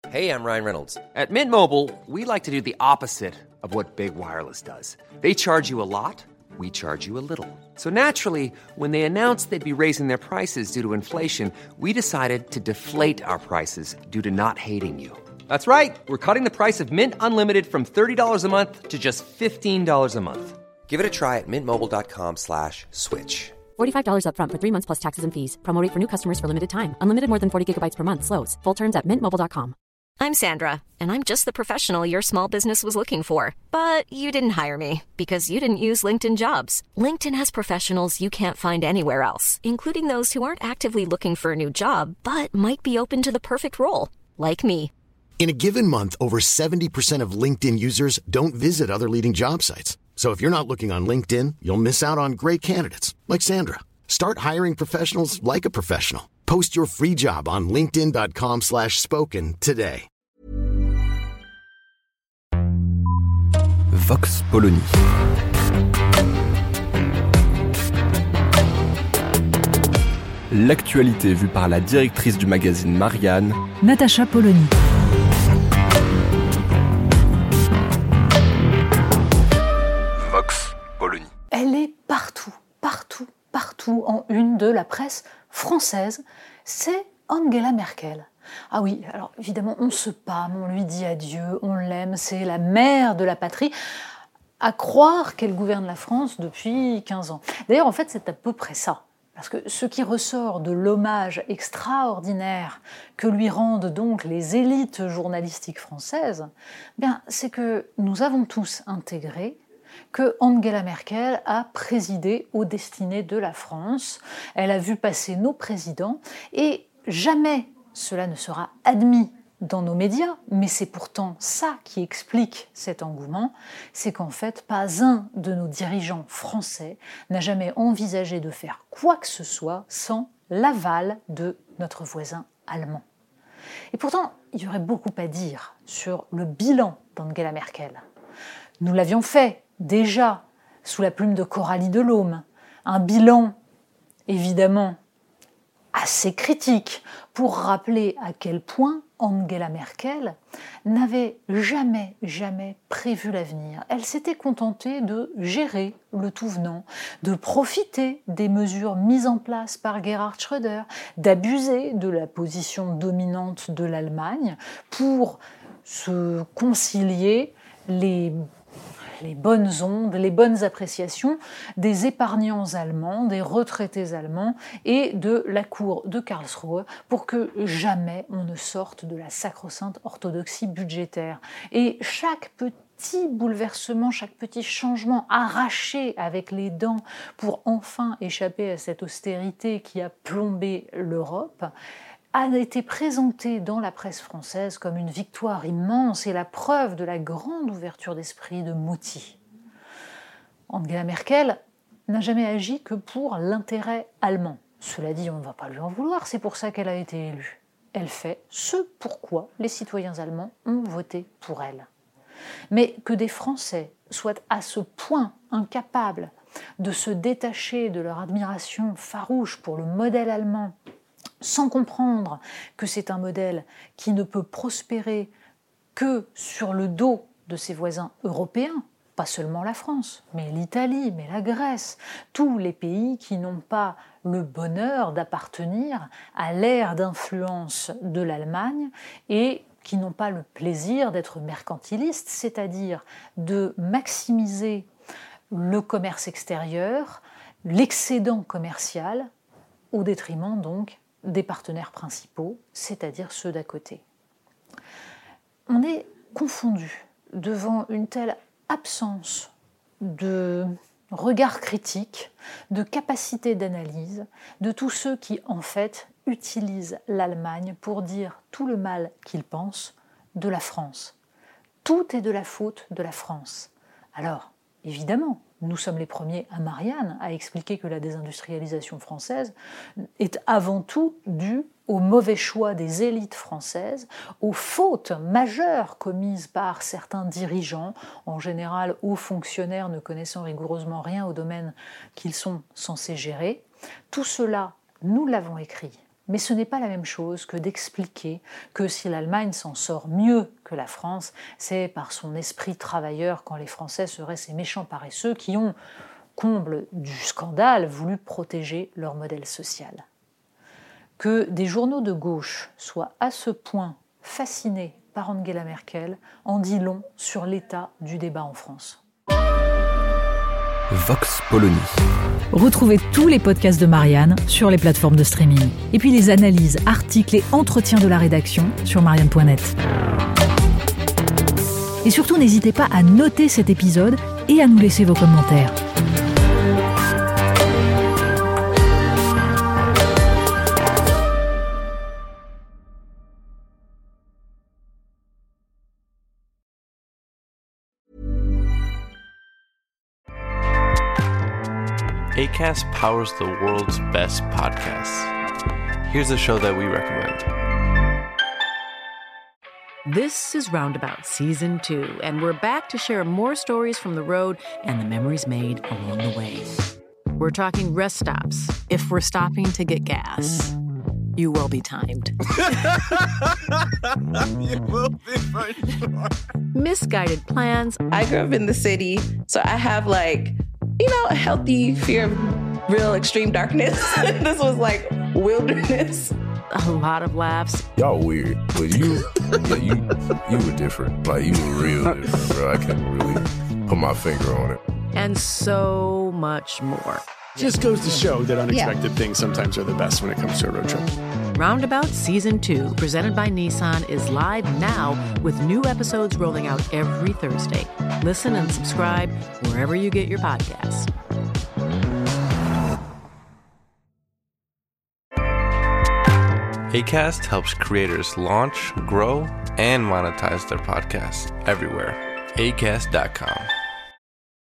Hey, I'm Ryan Reynolds. At Mint Mobile, we like to do the opposite of what Big Wireless does. They charge you a lot, we charge you a little. So naturally, when they announced they'd be raising their prices due to inflation, we decided to deflate our prices due to not hating you. That's right. We're cutting the price of Mint Unlimited from $30 a month to just $15 a month. Give it a try at mintmobile.com/switch. $45 up front for 3 months plus taxes and fees. Promo rate for new customers for limited time. Unlimited more than 40 gigabytes per month. Slows full terms at mintmobile.com. I'm Sandra, and I'm just the professional your small business was looking for. But you didn't hire me because you didn't use LinkedIn Jobs. LinkedIn has professionals you can't find anywhere else, including those who aren't actively looking for a new job, but might be open to the perfect role, like me. In a given month, over 70% of LinkedIn users don't visit other leading job sites. So if you're not looking on LinkedIn, you'll miss out on great candidates like Sandra. Start hiring professionals like a professional. Post your free job on linkedin.com/spoken today. Vox Polony. L'actualité vue par la directrice du magazine Marianne, Natacha Polony. Vox Polony. Elle est partout en une de la presse française. C'est Angela Merkel. Ah oui, alors évidemment, on se pâme, on lui dit adieu, on l'aime, c'est la mère de la patrie. À croire qu'elle gouverne la France depuis 15 ans. D'ailleurs, en fait, c'est à peu près ça. Parce que ce qui ressort de l'hommage extraordinaire que lui rendent donc les élites journalistiques françaises, c'est que nous avons tous intégré que Angela Merkel a présidé aux destinées de la France. Elle a vu passer nos présidents et jamais cela ne sera admis dans nos médias, mais c'est pourtant ça qui explique cet engouement, c'est qu'en fait, pas un de nos dirigeants français n'a jamais envisagé de faire quoi que ce soit sans l'aval de notre voisin allemand. Et pourtant, il y aurait beaucoup à dire sur le bilan d'Angela Merkel. Nous l'avions fait déjà sous la plume de Coralie Delhomme, un bilan évidemment assez critique pour rappeler à quel point Angela Merkel n'avait jamais prévu l'avenir. Elle s'était contentée de gérer le tout venant, de profiter des mesures mises en place par Gerhard Schröder, d'abuser de la position dominante de l'Allemagne pour se concilier les bonnes ondes, les bonnes appréciations des épargnants allemands, des retraités allemands et de la cour de Karlsruhe pour que jamais on ne sorte de la sacro-sainte orthodoxie budgétaire. Et chaque petit bouleversement, chaque petit changement arraché avec les dents pour enfin échapper à cette austérité qui a plombé l'Europe, a été présenté dans la presse française comme une victoire immense et la preuve de la grande ouverture d'esprit de Mauty. Angela Merkel n'a jamais agi que pour l'intérêt allemand. Cela dit, on ne va pas lui en vouloir, c'est pour ça qu'elle a été élue. Elle fait ce pourquoi les citoyens allemands ont voté pour elle. Mais que des Français soient à ce point incapables de se détacher de leur admiration farouche pour le modèle allemand, sans comprendre que c'est un modèle qui ne peut prospérer que sur le dos de ses voisins européens, pas seulement la France, mais l'Italie, mais la Grèce, tous les pays qui n'ont pas le bonheur d'appartenir à l'ère d'influence de l'Allemagne et qui n'ont pas le plaisir d'être mercantilistes, c'est-à-dire de maximiser le commerce extérieur, l'excédent commercial, au détriment donc des partenaires principaux, c'est-à-dire ceux d'à côté. On est confondu devant une telle absence de regard critique, de capacité d'analyse, de tous ceux qui, en fait, utilisent l'Allemagne pour dire tout le mal qu'ils pensent de la France. Tout est de la faute de la France. Alors, évidemment, nous sommes les premiers à Marianne à expliquer que la désindustrialisation française est avant tout due au mauvais choix des élites françaises, aux fautes majeures commises par certains dirigeants, en général hauts fonctionnaires ne connaissant rigoureusement rien au domaine qu'ils sont censés gérer. Tout cela, nous l'avons écrit Mais ce n'est pas la même chose que d'expliquer que si l'Allemagne s'en sort mieux que la France, c'est par son esprit travailleur quand les Français seraient ces méchants paresseux qui ont, comble du scandale, voulu protéger leur modèle social. Que des journaux de gauche soient à ce point fascinés par Angela Merkel en dit long sur l'état du débat en France. Vox Polony. Retrouvez tous les podcasts de Marianne sur les plateformes de streaming. Et puis les analyses, articles et entretiens de la rédaction sur marianne.net. Et surtout, n'hésitez pas à noter cet épisode et à nous laisser vos commentaires. Acast powers the world's best podcasts. Here's a show that we recommend. This is Roundabout Season 2, and we're back to share more stories from the road and the memories made along the way. We're talking rest stops, if we're stopping to get gas. You will be timed. You will be for sure. Misguided plans. I grew up in the city, so I have a healthy fear of real extreme darkness. This was like wilderness. A lot of laughs. Y'all weird, but you were different. Like, you were real different, bro. I can't really put my finger on it. And so much more. Just goes to show that unexpected things sometimes are the best when it comes to a road trip. Roundabout Season 2, presented by Nissan, is live now with new episodes rolling out every Thursday. Listen and subscribe wherever you get your podcasts. Acast helps creators launch, grow, and monetize their podcasts everywhere. Acast.com.